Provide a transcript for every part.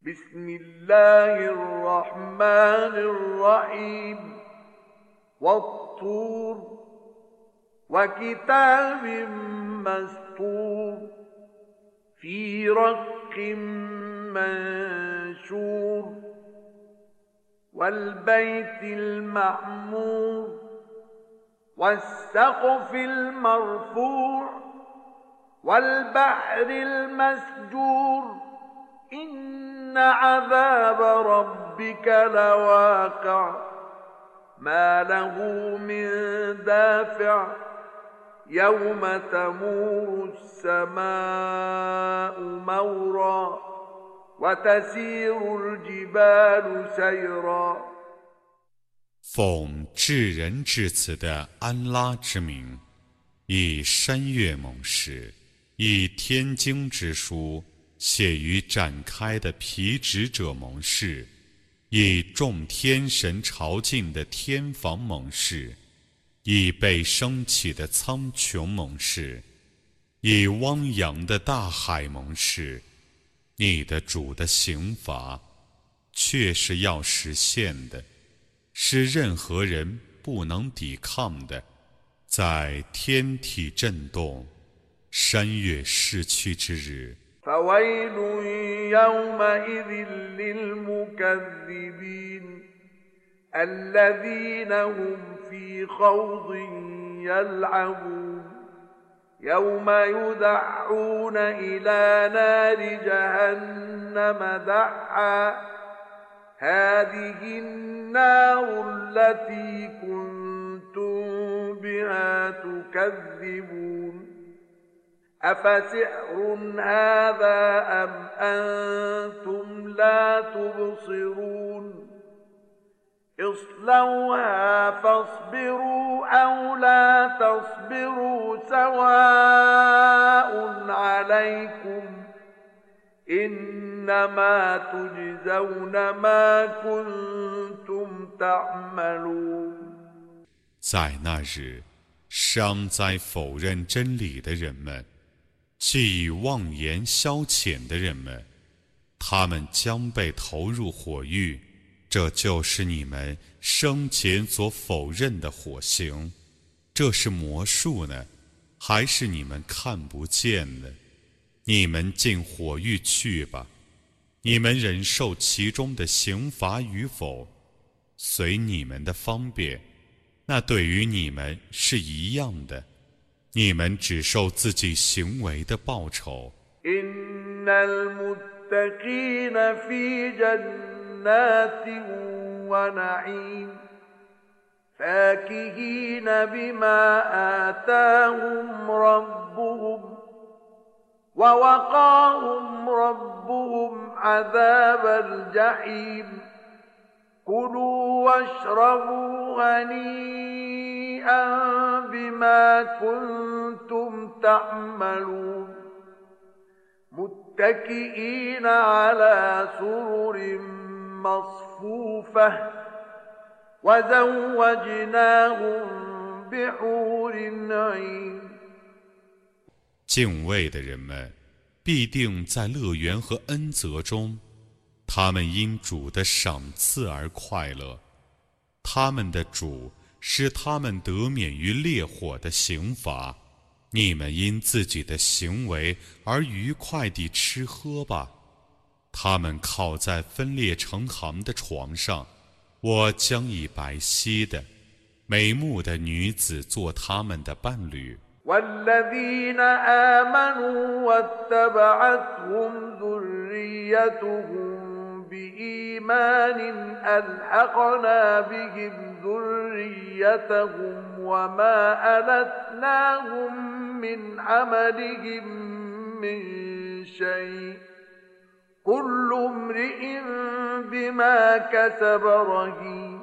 بسم الله الرحمن الرحيم والطور وكتاب مسطور في رق منشور والبيت المعمور والسقف المرفوع والبحر المسجور إن عذاب ربك لواقع ما له من دافع يوم تمور السماء مورا وتسير الجبال سيرا 奉至仁至慈的安拉之名，以山岳盟誓，以天经之书写于展开的皮纸者盟誓，以众天神朝觐的天房盟誓，以被升起的苍穹盟誓，以汪洋的大海盟誓。你的主的刑罚却是要实现的，是任何人不能抵抗的。在天体震动、山岳逝去之日， فويل يومئذ للمكذبين الذين هم في خوض يلعبون يوم يدعون إلى نار جهنم دعا هذه النار التي كنتم بها تكذبون أفسحر هذا أم أنتم لا تبصرون اصلوها فاصبروا أو لا تصبروا سواء عليكم إنما تجزون ما كنتم تعملون 在那日，尚在否认真理的人们，既以妄言消遣的人们，他们将被投入火狱，这就是你们生前所否认的火刑。这是魔术呢，还是你们看不见呢？你们进火狱去吧，你们忍受其中的刑罚与否，随你们的方便，那对于你们是一样的，你们只受自己行为的报酬。 إن المتقين في جنات ونعيم فاكهين بما آتاهم ربهم ووقاهم ربهم عذاب الجحيم كلوا واشربوا هنيئا بما كنتم تعملون متكئين على سرر مصفوفة وزوجناهم بحور عين 敬畏的人们必定在乐园和恩泽中，他们因主的赏赐而快乐，他们的主使他们得免于烈火的刑罚。你们因自己的行为而愉快地吃喝吧。他们靠在分裂成行的床上，我将以白皙的、美目的女子做他们的伴侣。 والذين آمنوا واتبعتهم ذريتهم بإيمان ألحقنا بهم ذريتهم وما ألتناهم من عملهم من شيء كل امرئ بما كسب رهين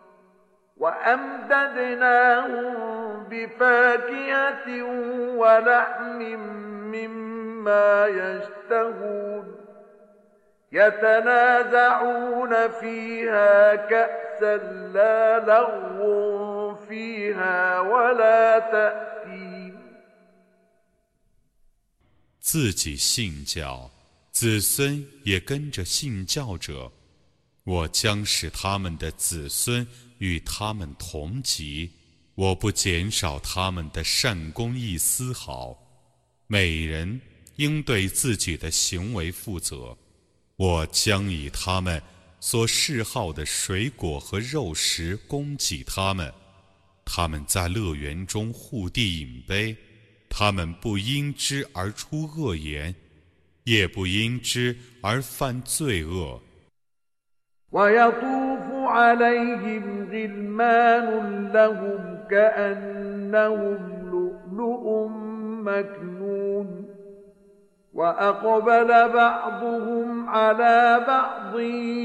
وأمددناهم بفاكهة ولحم مما يشتهون يتنازعون فيها كأسا لا لغو فيها ولا تأثيم 自己信教， 子孙也跟着信教者，我将使他们的子孙与他们同级，我不减少他们的善功一丝毫。每人应对自己的行为负责。我将以他们所嗜好的水果和肉食供给他们。他们在乐园中互递饮杯，他们不因之而出恶言，也不因之而犯罪恶。 ويطوف عليهم غلمان لهم كأنهم لؤلؤ مكنون وأقبل بعضهم على بعض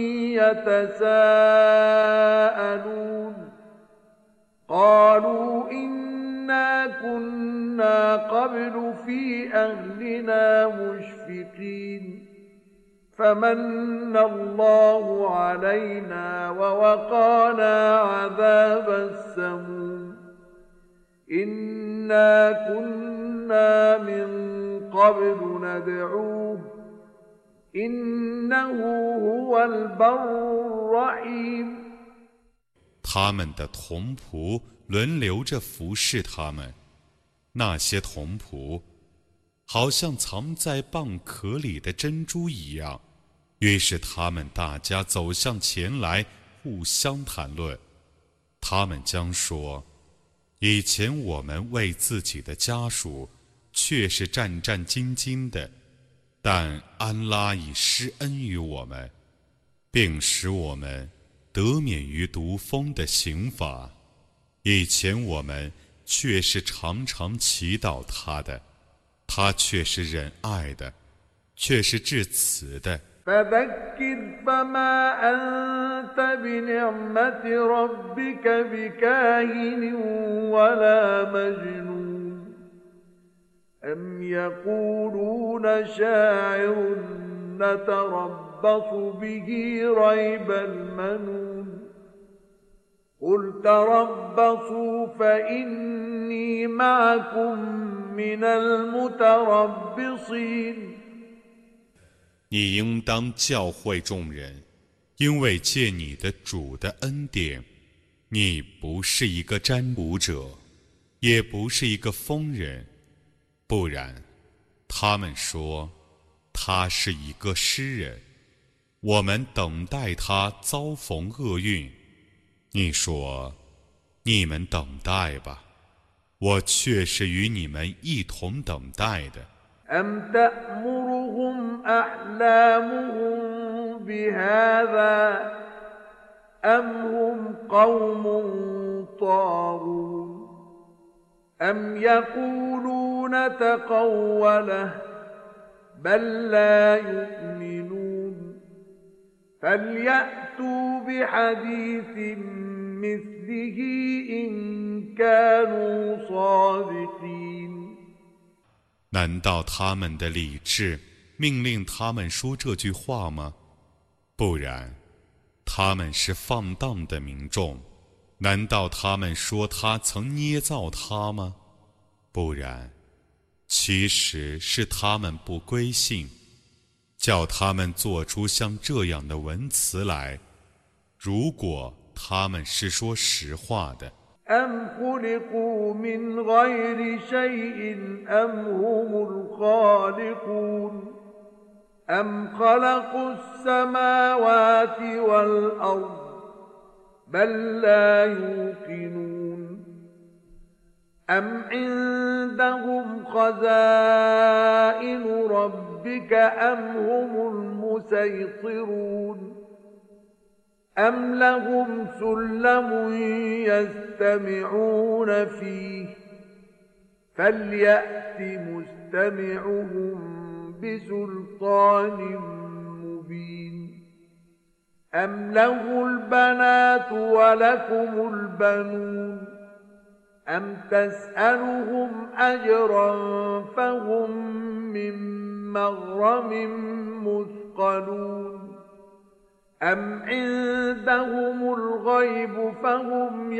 يتساءلون قالوا إنا كنا قبل في أهلنا مشفقين فمن الله علينا ووقانا عذاب السموم إنا كنا من قبل ندعوه إنه هو البر الرحيم。 他们的童仆轮流着服侍他们，那些童仆好像藏在蚌壳里的珍珠一样。于是他们大家走向前来，互相谈论。他们将说：以前我们为自己的家属却是战战兢兢的，但安拉已施恩于我们，并使我们得免于毒蜂的刑罚。以前我们却是常常祈祷他的，他却是仁爱的，却是至慈的。 فذكر فما أنت بنعمة ربك بكاهن ولا مجنون أم يقولون شاعر نتربص به ريب المنون قل تربصوا فإني معكم من المتربصين。 你应当教诲众人，因为借你的主的恩典，你不是一个占卜者，也不是一个疯人，不然，他们说他是一个诗人，我们等待他遭逢厄运。你说，你们等待吧，我却是与你们一同等待的。 أم تأمرهم أحلامهم بهذا أم هم قوم طاغون أم يقولون تقوله بل لا يؤمنون فليأتوا بحديث مثله إن كانوا صادقين。 难道他们的理智命令他们说这句话吗？不然，他们是放荡的民众。难道他们说他曾捏造他吗？不然，其实是他们不归信，叫他们做出像这样的文词来。如果他们是说实话的。 أم خلقوا من غير شيء أم هم الخالقون أم خلقوا السماوات والأرض بل لا يوقنون أم عندهم خزائن ربك أم هم المسيطرون أم لهم سلم يستمعون فيه فليأت مستمعهم بسلطان مبين أم له البنات ولكم البنون أم تسألهم أجرا فهم من مغرم مثقلون أم عندهم الغيب فهم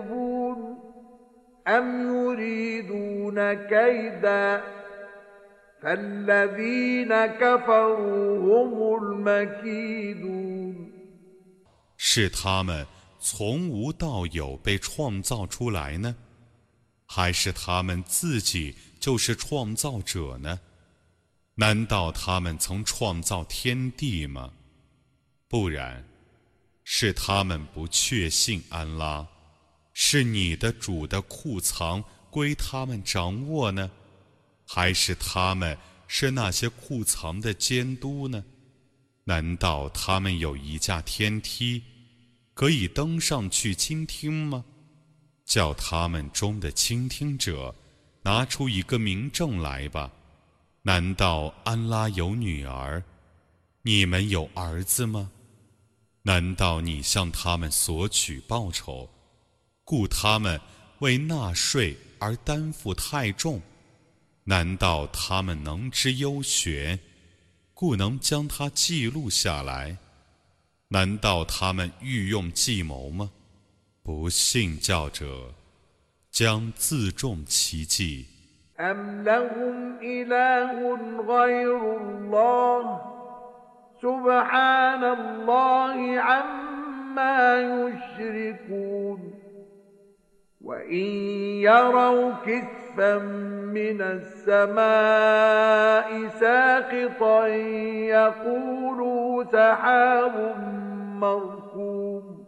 يكتبون أم يريدون كيدا فالذين كفروا هم المكيدون 是他们从无到有被创造出来呢，还是他们自己就是创造者呢？难道他们曾创造天地吗？不然，是他们不确信安拉，是你的主的库藏归他们掌握呢，还是他们是那些库藏的监督呢？难道他们有一架天梯，可以登上去倾听吗？叫他们中的倾听者拿出一个明证来吧。难道安拉有女儿，你们有儿子吗？难道你向他们索取报酬，故他们为纳税而担负太重？难道他们能知幽玄，故能将它记录下来？难道他们欲用计谋吗？不信教者将自重其计。 أم لهم إله غير الله سبحان الله عما يشركون وإن يروا كسفا من السماء ساقطا يقولوا سحاب مركوم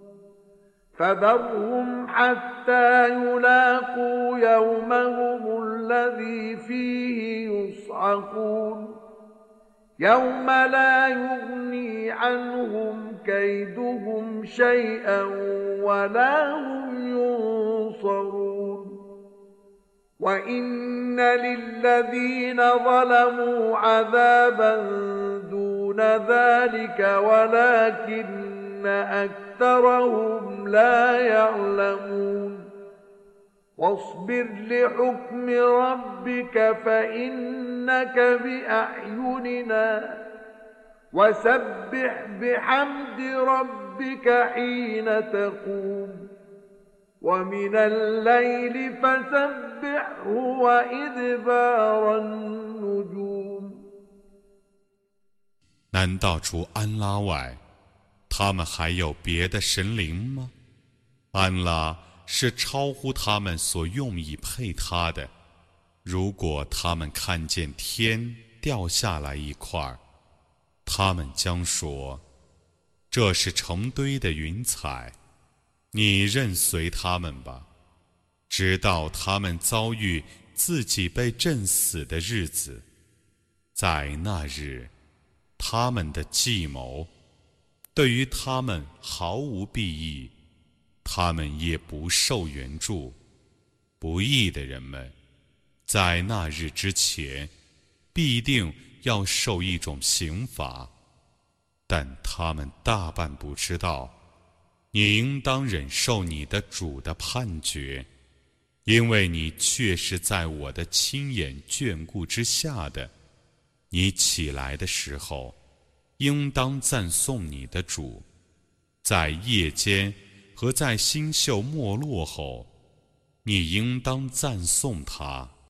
فذرهم حتى يلاقوا يومهم الذي فيه يصعقون يوم لا يغني عنهم كيدهم شيئا ولا هم ينصرون وإن للذين ظلموا عذابا دون ذلك ولكن أكثرهم لا يعلمون واصبر لحكم ربك فإنك بأعيننا وسبح بحمد ربك حين تقوم ومن الليل فسبحه وإدبار النجوم 难道除安拉外，他们还有别的神灵吗？安拉是超乎他们所用以配他的。如果他们看见天掉下来一块，他们将说：“这是成堆的云彩。”你任随他们吧，直到他们遭遇自己被震死的日子。在那日，他们的计谋对于他们毫无裨益，他们也不受援助。不义的人们，在那日之前，必定要受一种刑罚，但他们大半不知道。你应当忍受你的主的判决，因为你确是在我的亲眼眷顾之下的。你起来的时候，应当赞颂你的主，在夜间和在星宿没落后，你应当赞颂他。